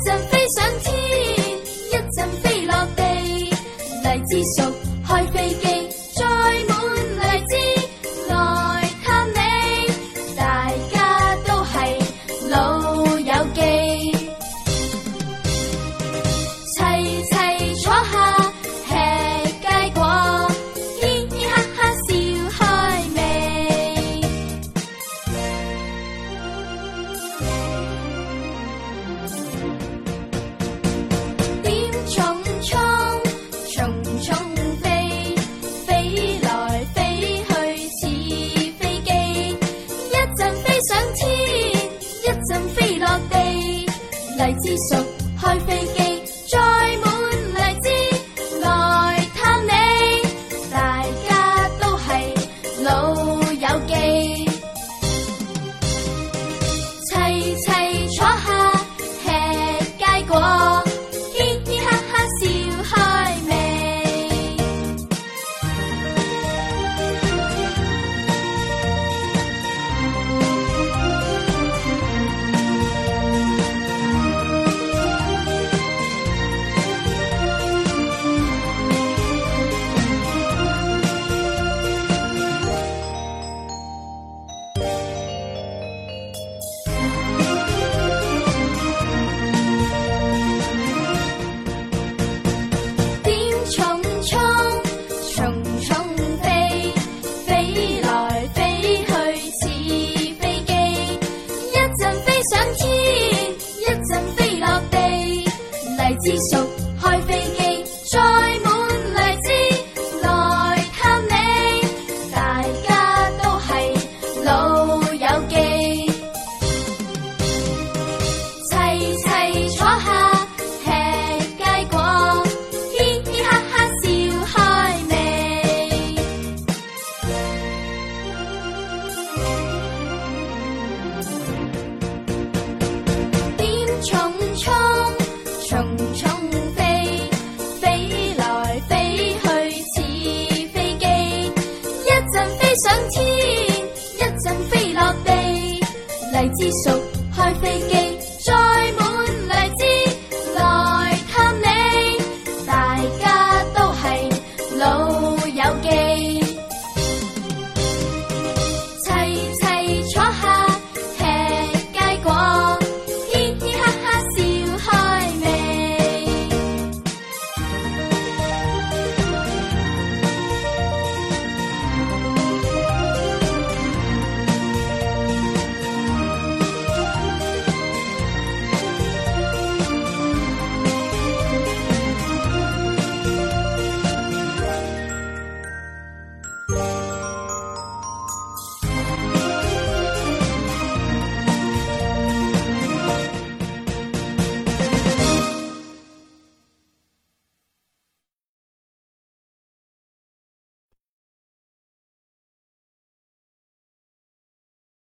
陣飛上天，一陣飛落地。荔枝熟，開飛機，載滿荔枝來探你。大家都係老友記，齊齊坐下吃佳果，嘻嘻哈哈笑開味。點蟲蟲，蟲蟲飛，飛來飛去似飛機，一陣飛上天，一陣飛落地。荔枝熟，開飛機，載滿荔枝來探你。大家都係老友記，齊齊坐下吃佳果，嘻嘻哈哈笑開味。點蟲蟲，蟲蟲飛，飛來飛去似飛機，一陣飛上天，一陣飛落地。荔枝熟，開飛機，載滿荔枝來探你。大家都係老友記，齊齊坐下吃佳果，嘻嘻哈哈笑開味。點蟲蟲，蟲蟲飛，飛來飛去似飛機，一陣飛上天，一陣飛落地。荔枝熟，